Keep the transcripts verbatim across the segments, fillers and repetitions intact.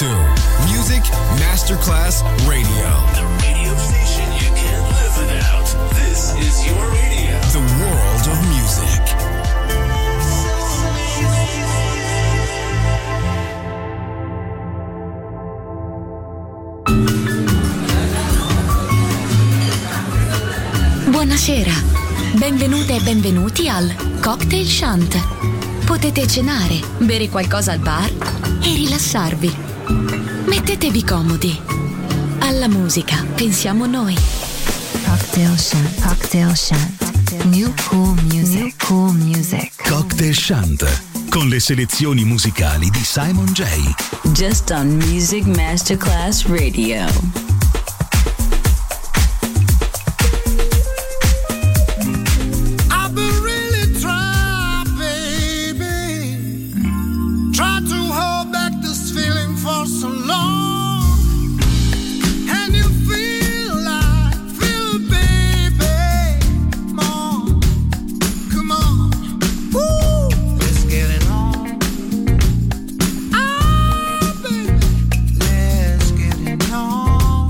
to Music Masterclass Radio. The radio station you can't live without. This is your radio. The world of music. Buonasera, benvenute e benvenuti al Cocktail Shant. Potete cenare, bere qualcosa al bar e rilassarvi. Mettetevi comodi. Alla musica pensiamo noi. Cocktail Shant, Cocktail Shant. New cool music, New cool music. Cocktail Shant, con le selezioni musicali di Simon J. Just on Music Masterclass Radio. Let's get it on.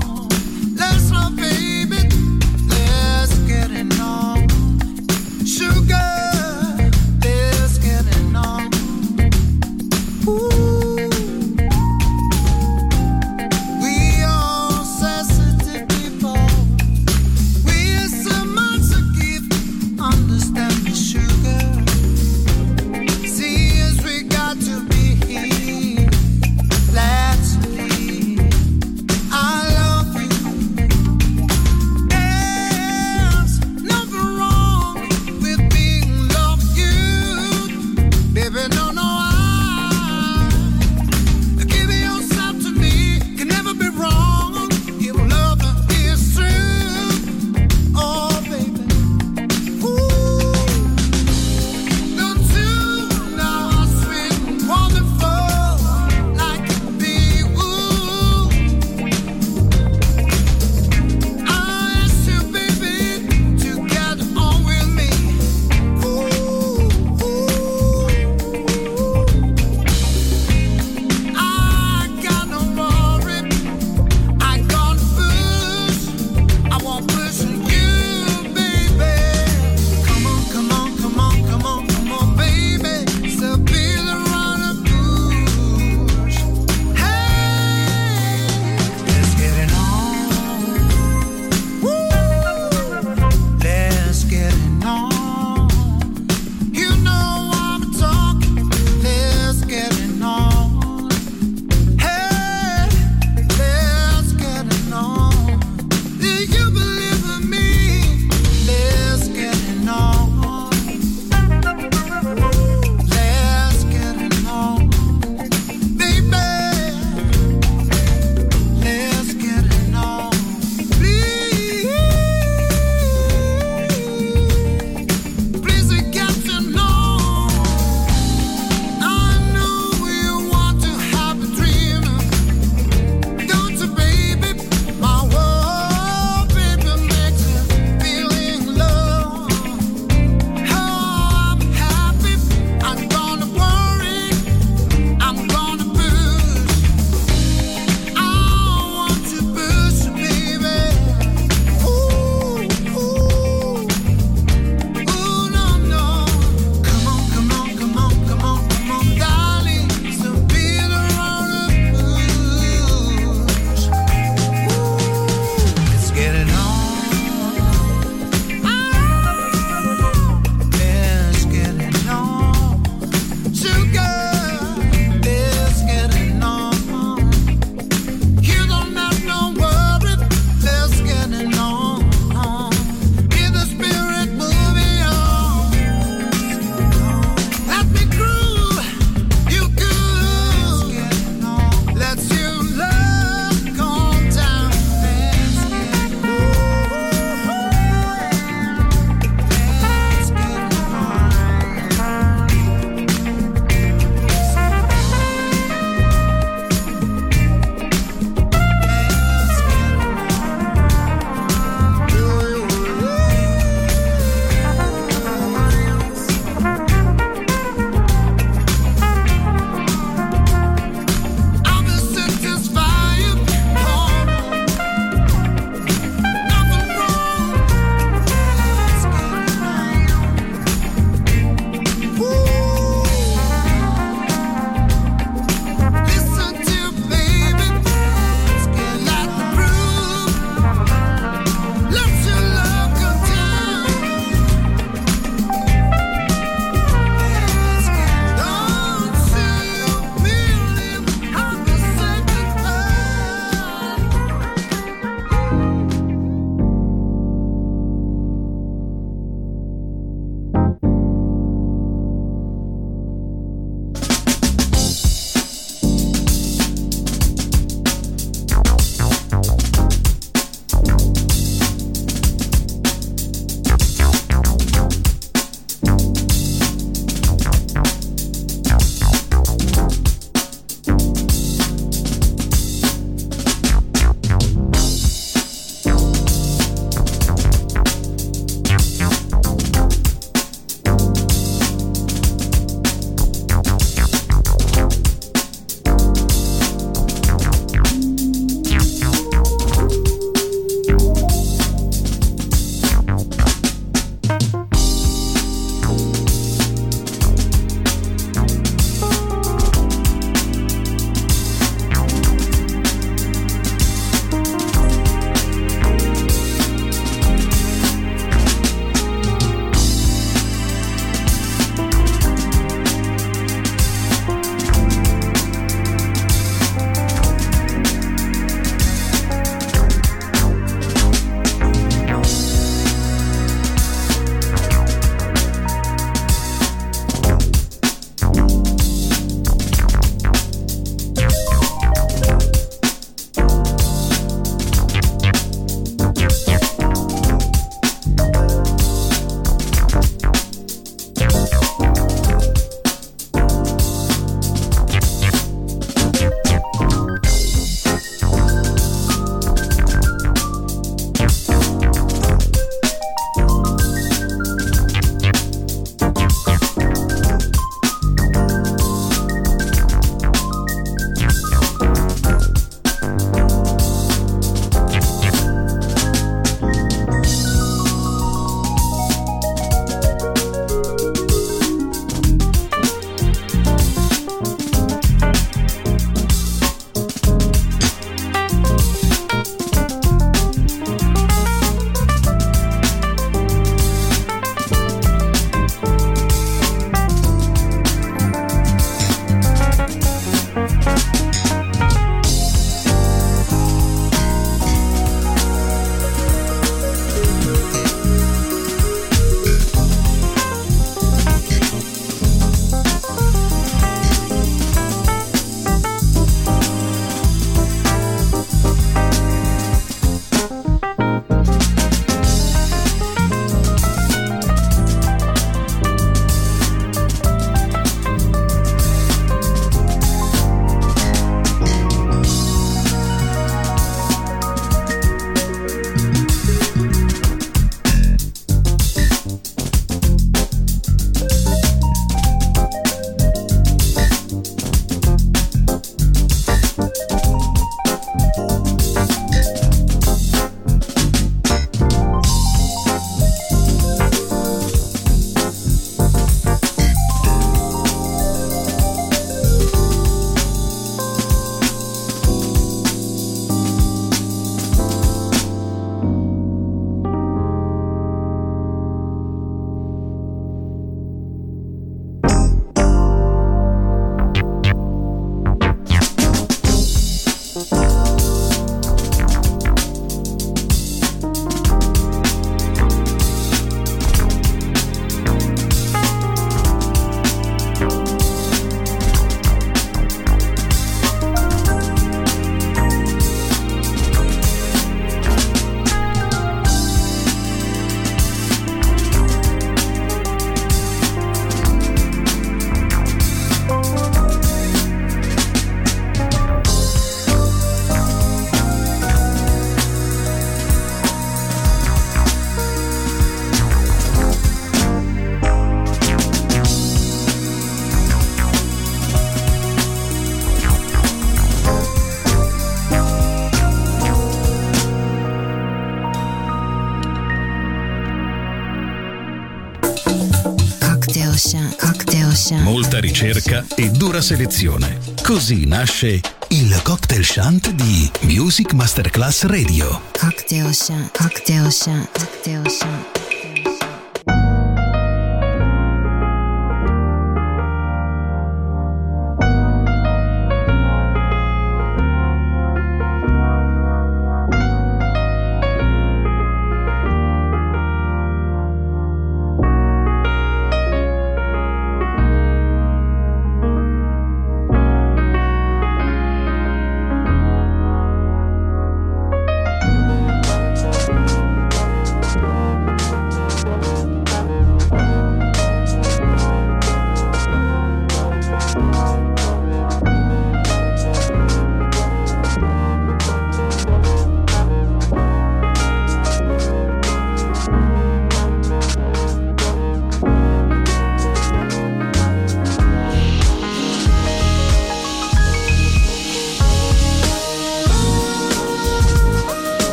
Cocktail Shant. Molta ricerca e dura selezione. Così nasce il Cocktail Shant di Music Masterclass Radio. Cocktail Shant. Cocktail Shant. Cocktail Shant.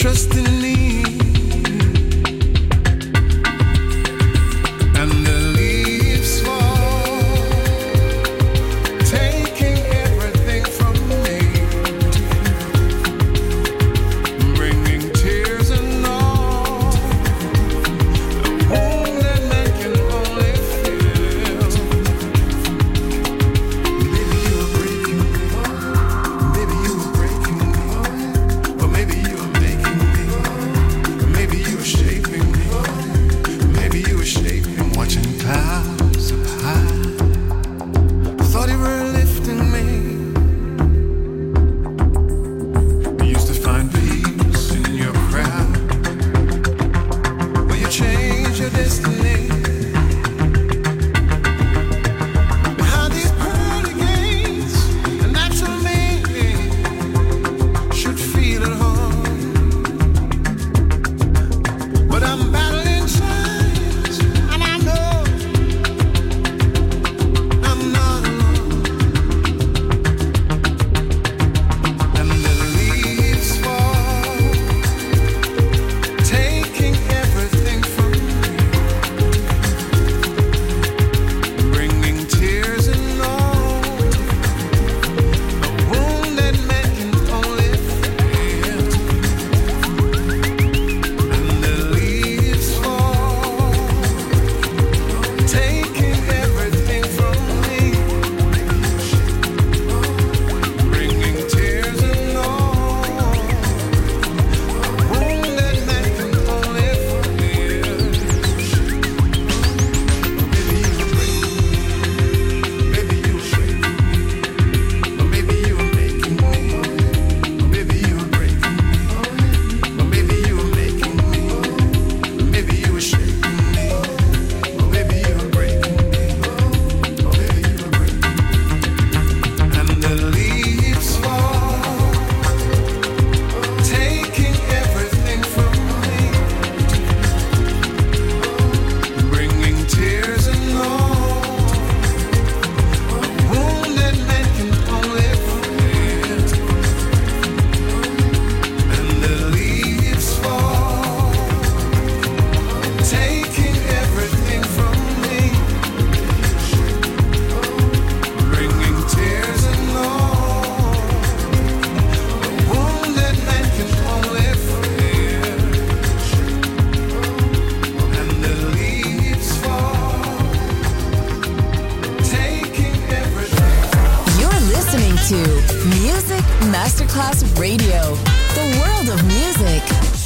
trust in me. Masterclass Radio, the world of music.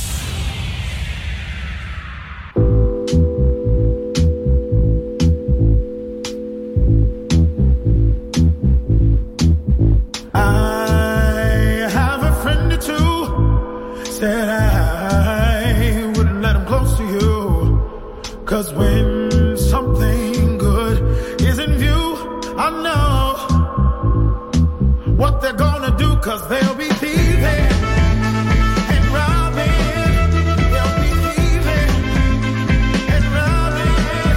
I have a friend or two, said I wouldn't let him close to you, 'cause when something good is in view, I know what they're gonna do, 'cause they'll be thieving and robbing. They'll be thieving and robbing.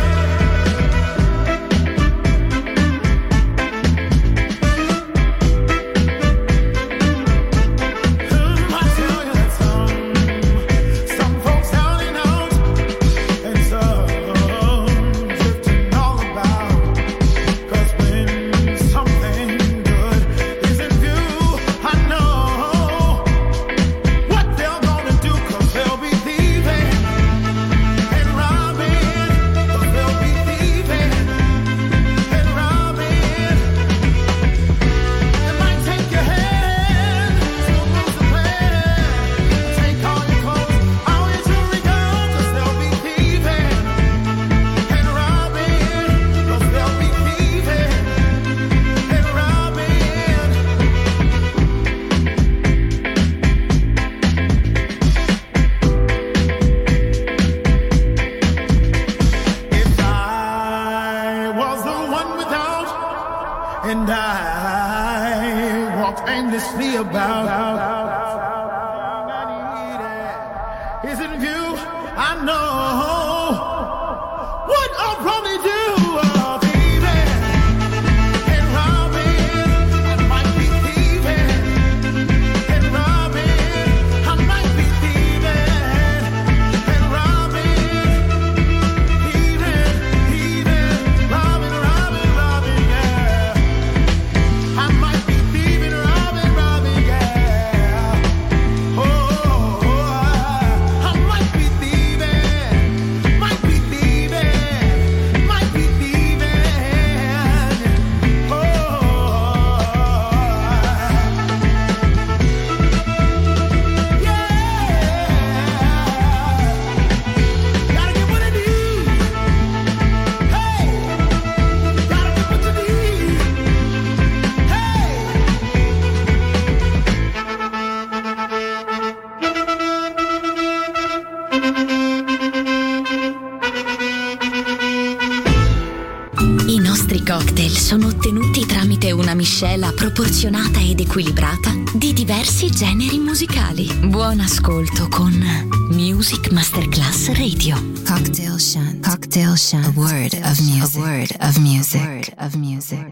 Hmm, I tell you that some, some folks down and out, and some drifting all about, 'cause when something good is in view, I know what they're gonna do, 'cause they'll be thieving and robbing. 'Cause they'll be thieving and robbing. It might take your hand to lose the plan. Take all your clothes, all your jewelry gone, 'cause they'll be thieving and robbing. 'Cause they'll be thieving and robbing. If I was the one without, and I walked aimlessly about, is in view, I know what I'll probably do. Oh, thieving and robbing. I might be thieving and robbing. I might be thieving cocktail sono ottenuti tramite una miscela proporzionata ed equilibrata di diversi generi musicali. Buon ascolto con Music Masterclass Radio. Cocktail Shant. Cocktail Shant. A word of music. A word of music. A word of music.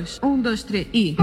dois, um, dois, três e...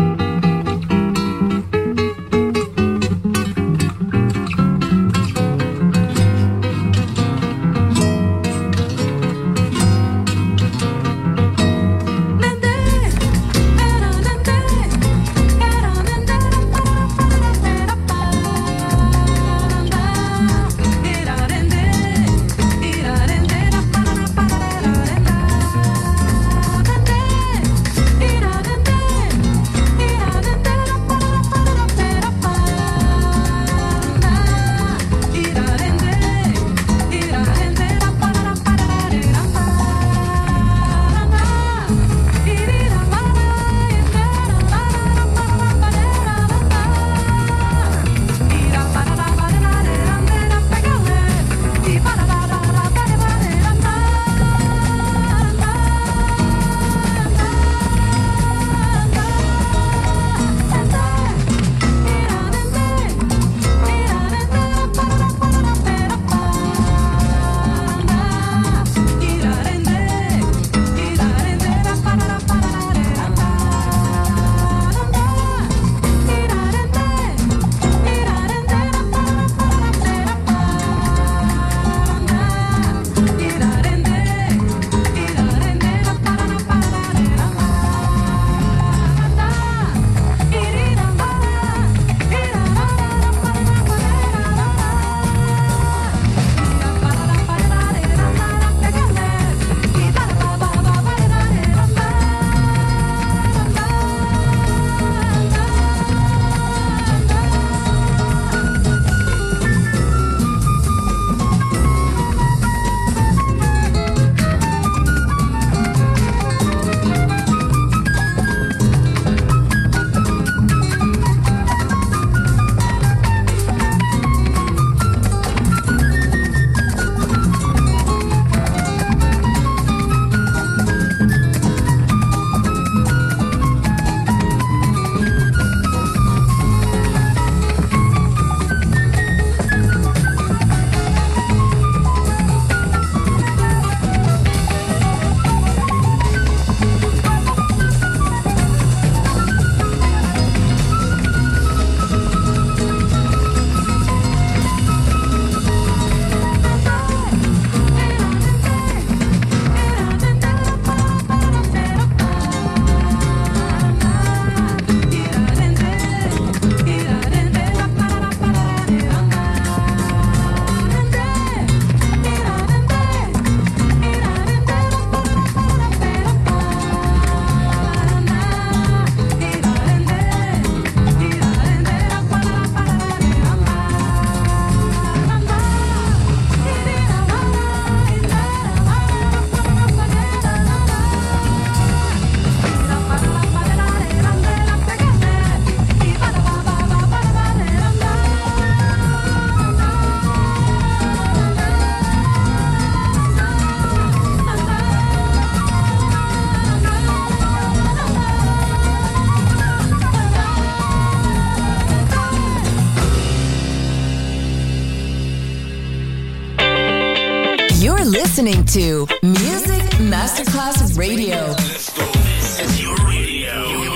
You're listening to Music Masterclass Radio. Let's go. This is your radio.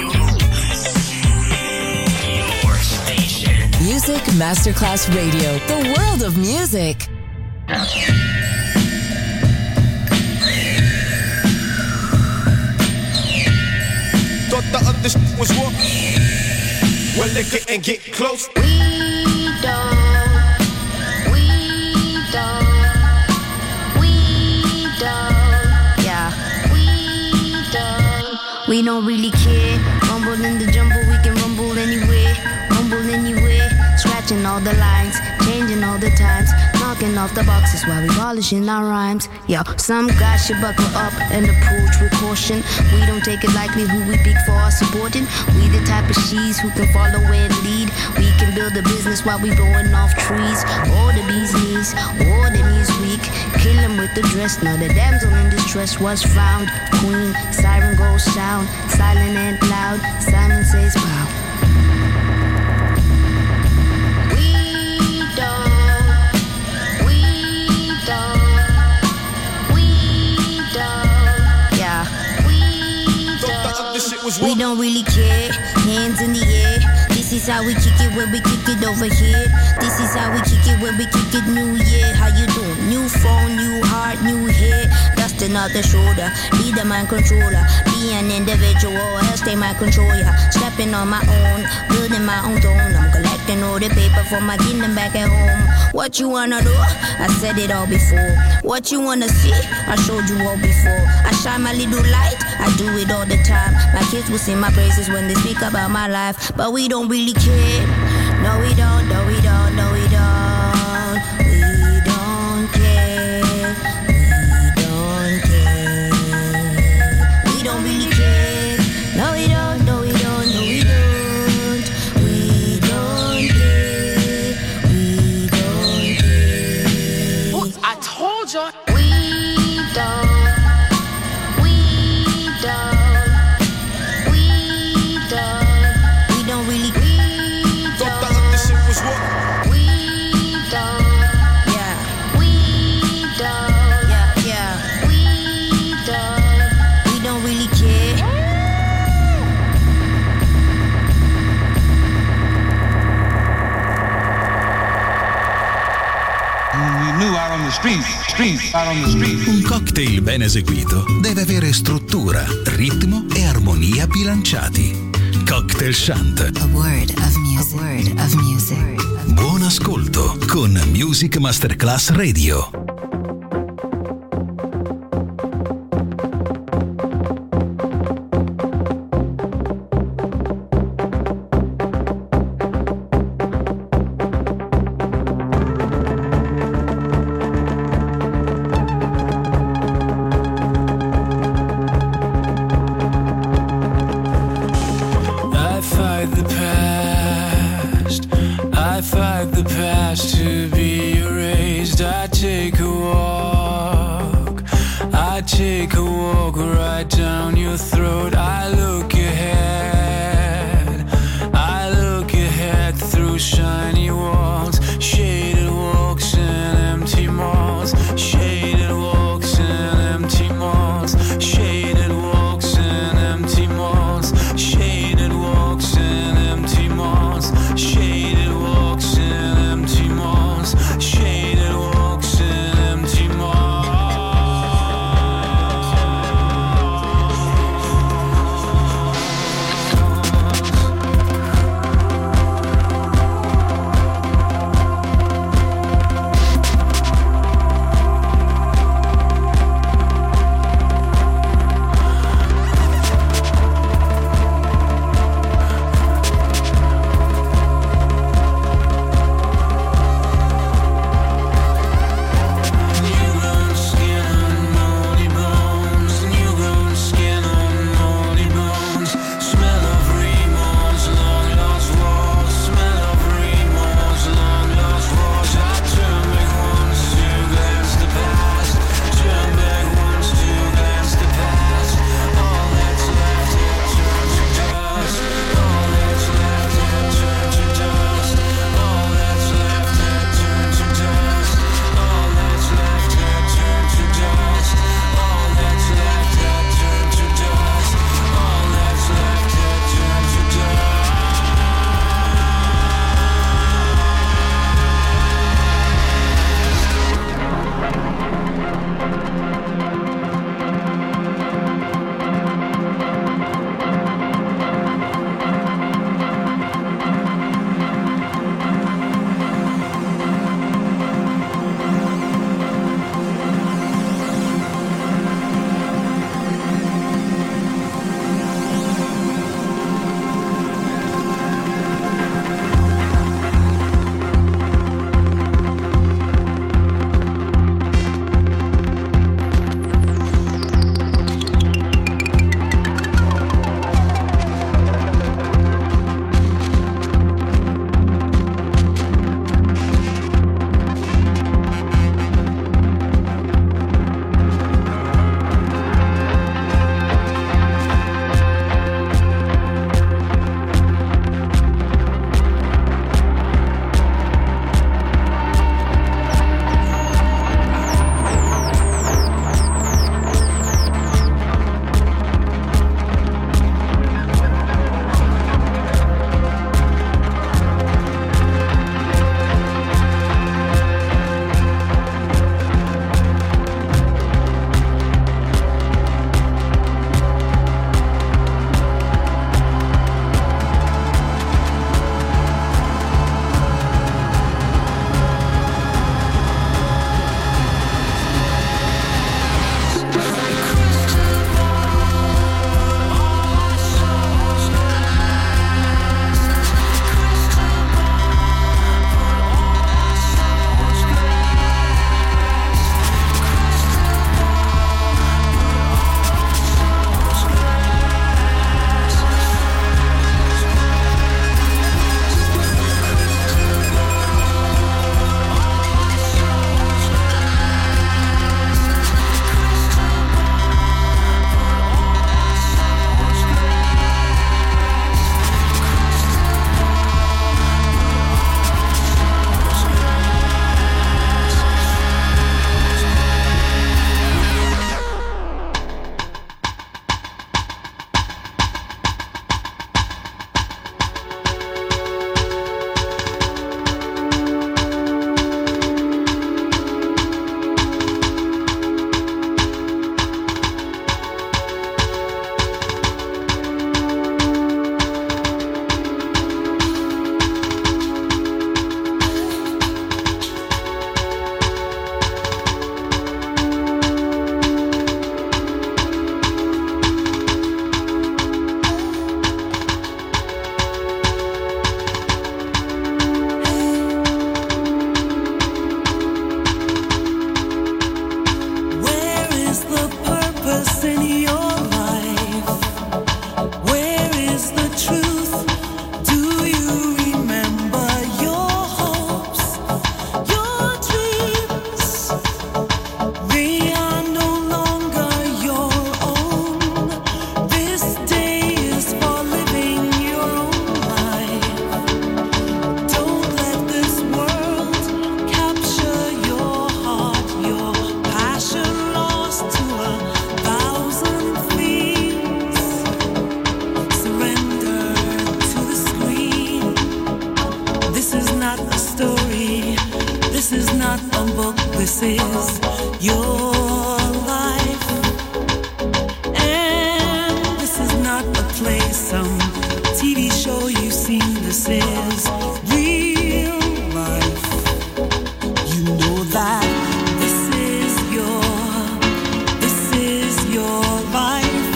Your station. Music Masterclass Radio. The world of music. Thought the other shit was war. Well, they couldn't get close. We don't. We don't. We don't. Yeah. We don't. We don't really care. Rumble in the jumble, we can rumble anywhere. Rumble anywhere. Scratching all the lines, changing all the times, knocking off the boxes while we polishing our rhymes. Yo, some guys should buckle up and approach with caution. We don't take it lightly who we pick for our supporting. We the type of she's who can follow and lead. We can build a business while we blowing off trees. All the bee's knees, all the knees weak. Kill him with the dress. Now the damsel in distress was found. Queen, siren goes sound, silent and loud. Simon says, wow. was what? We don't really care. Hands in the air. This is how we kick it when we kick it over here. This is how we kick it when we kick it. New year, how you doing? New phone, new heart, new hair. Dusting off the shoulder. Be the mind controller. Be an individual, else they might control ya. Stepping on my own, building my own throne. I'm collecting all the paper for my kingdom back at home. What you wanna do? I said it all before. What you wanna see? I showed you all before. I shine my little light. I do it all the time. My kids will sing my praises when they speak about my life. But we don't really care. No, we don't. No, we don't. No, we don't. We don't care. We don't care. We don't really care. No, we don't. No, we don't. No, we don't. We don't care. We don't care. Well, I told you. We don't. We don't. We don't. We don't really. We don't. Thought that this shit was what? We don't. Yeah. We don't. Yeah. Yeah. We don't. We don't really care. We knew out on the streets, streets, out on the streets. Un cocktail ben eseguito deve avere struttura, ritmo e armonia bilanciati. Cocktail Shant. A word of music. A word of music. Buon ascolto con Music Masterclass Radio. I fight the past. I fight the past to be erased. I take a walk. I take a walk right down your throat. I look ahead. I look ahead through shiny walls, shaded walks and empty malls, shaded walks and empty malls, shaded walks and empty malls, shaded walks and empty malls, shaded walks and empty malls, shaded walks and empty malls. this is your life, and this is not a play, some T V show you've seen. This is real life. You know that this is your, this is your life.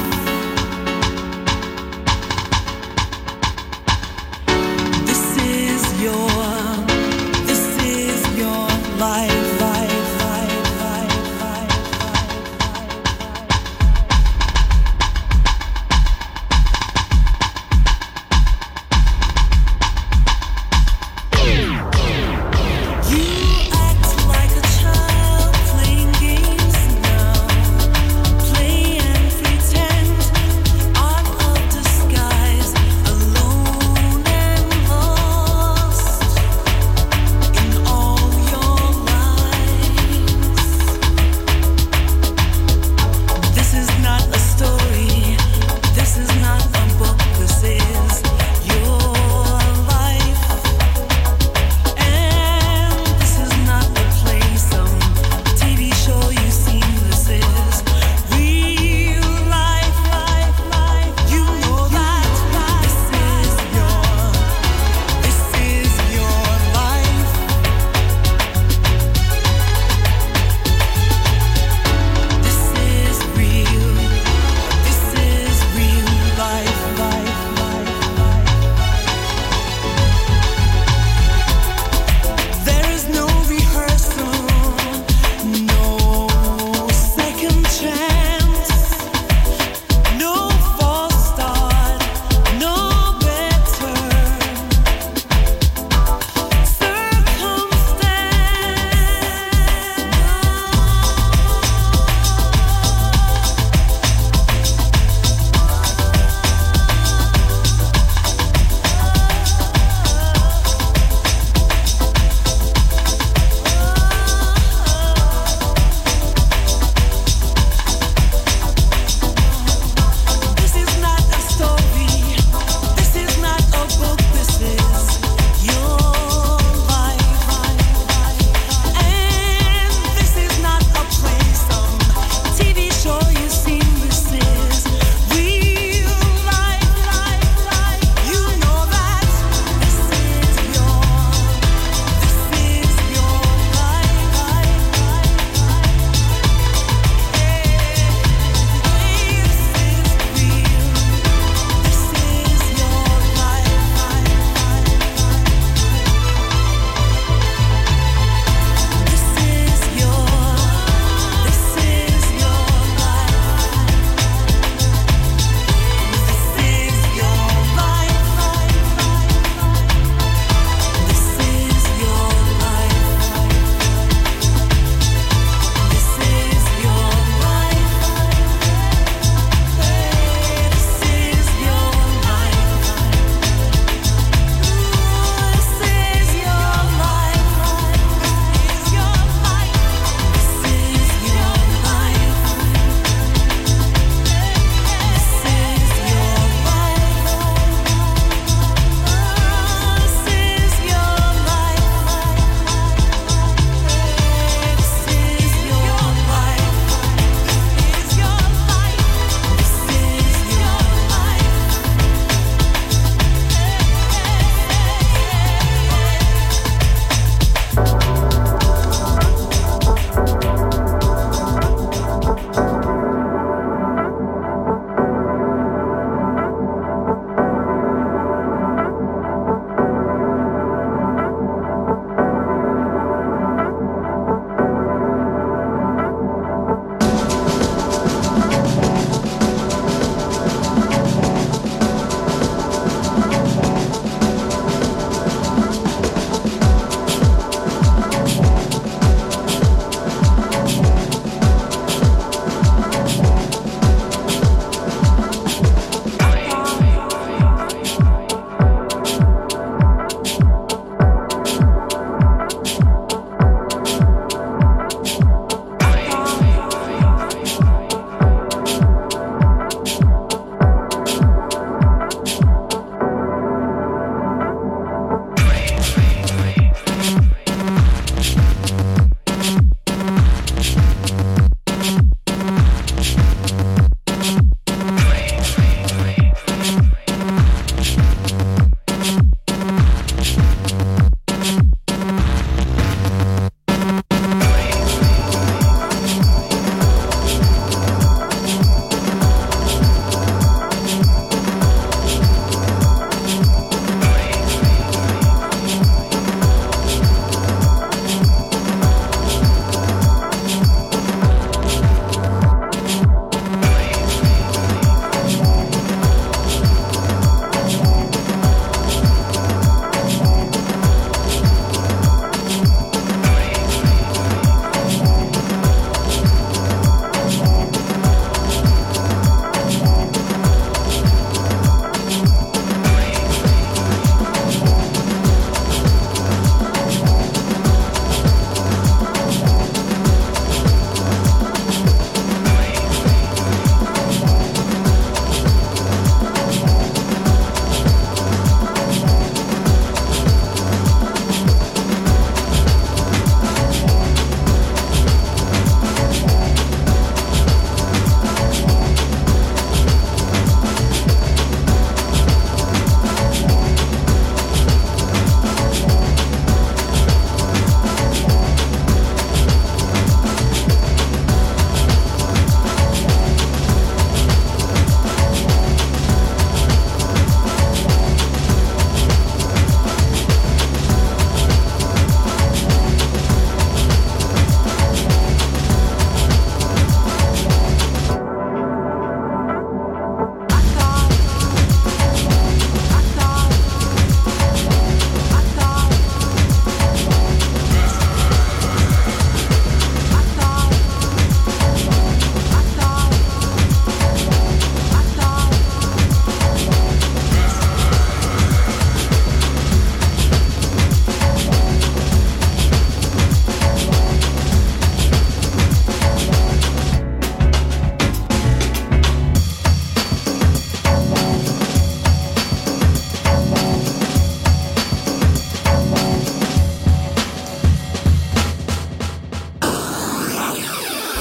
This is your, this is your life, life, life, life, life.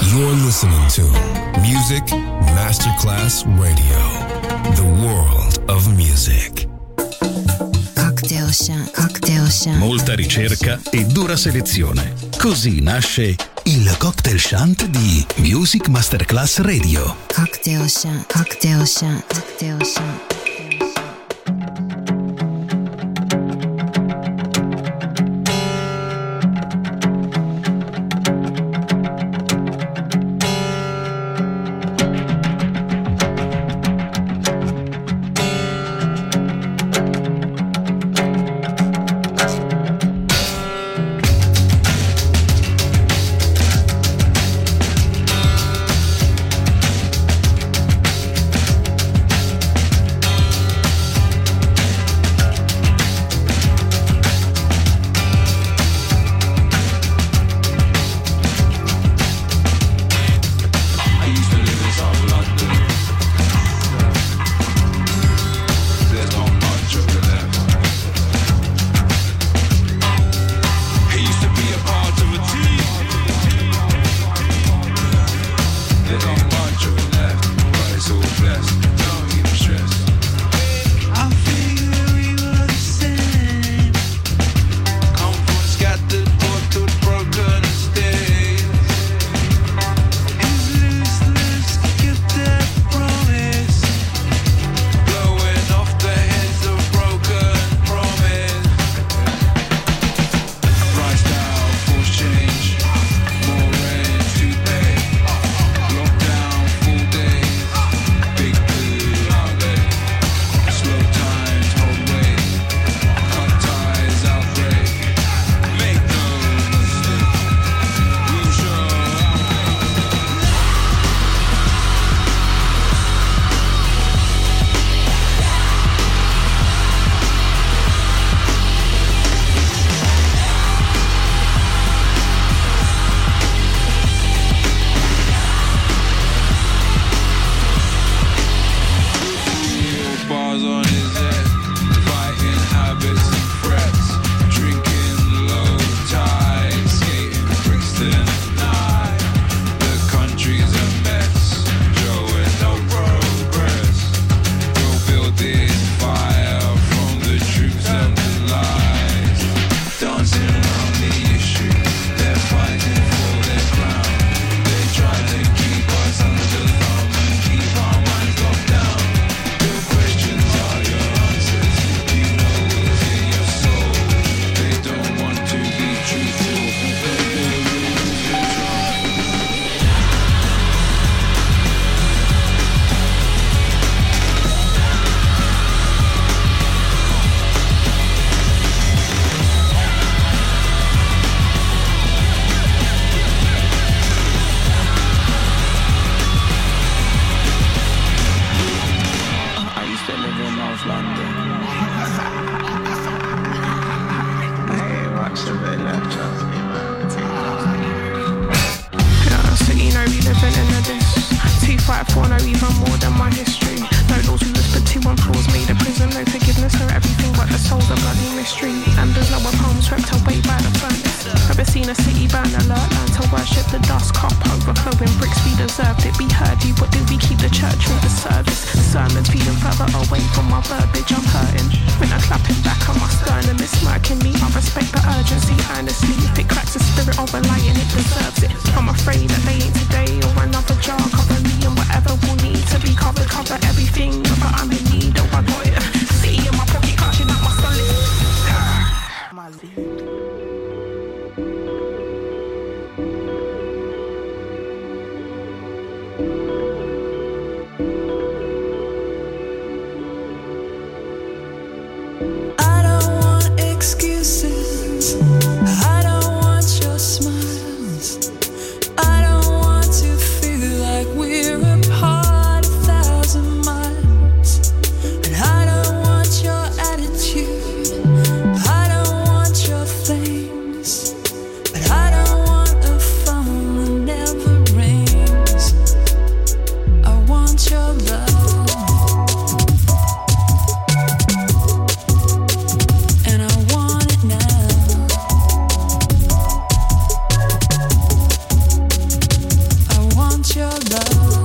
You're listening to Music Masterclass Radio, the world of music. Cocktail Shant, Cocktail Shant. Molta ricerca e dura selezione. Così nasce il Cocktail Shant di Music Masterclass Radio. Cocktail Shant, Cocktail Shant, Cocktail Shant. Excuses. I don't want your smiles. I don't want your love.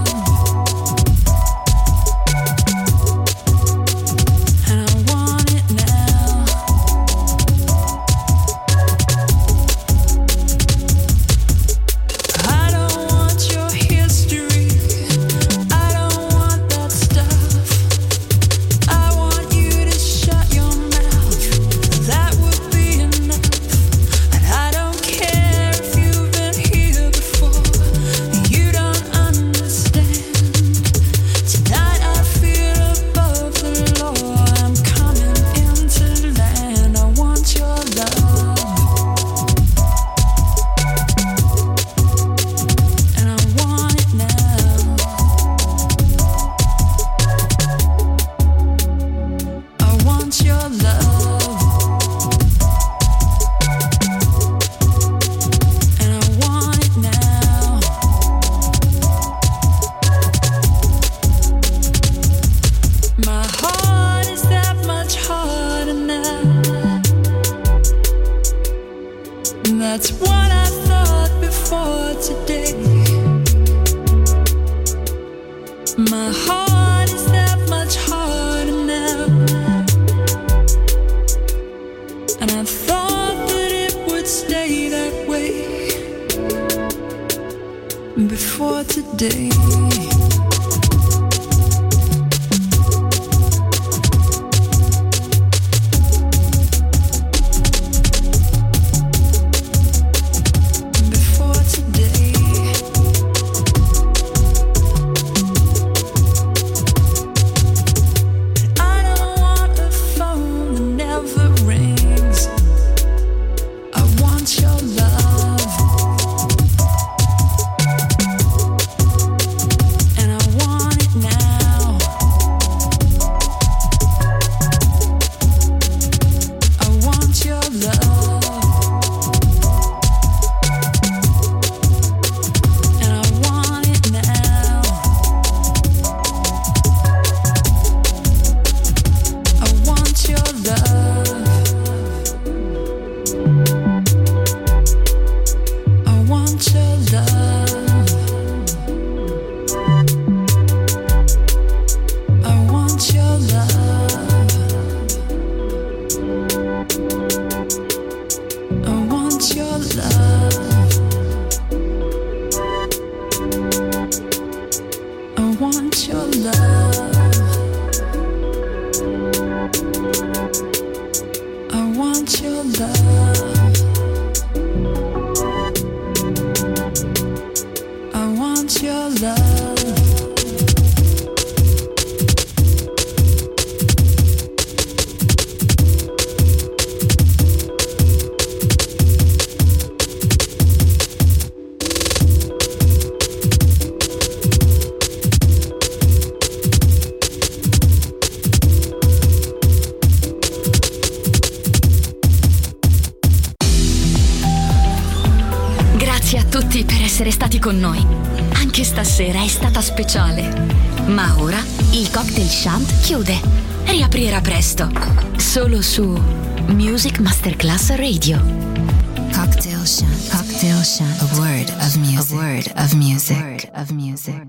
That's what I thought before today. My heart is that much harder now. And I thought that it would stay that way before today. Con noi. Anche stasera è stata speciale. Ma ora il Cocktail Shant chiude. Riaprirà presto. Solo su Music Masterclass Radio. Cocktail Shant. Cocktail Shant. A word of music. A word of music. A word of music.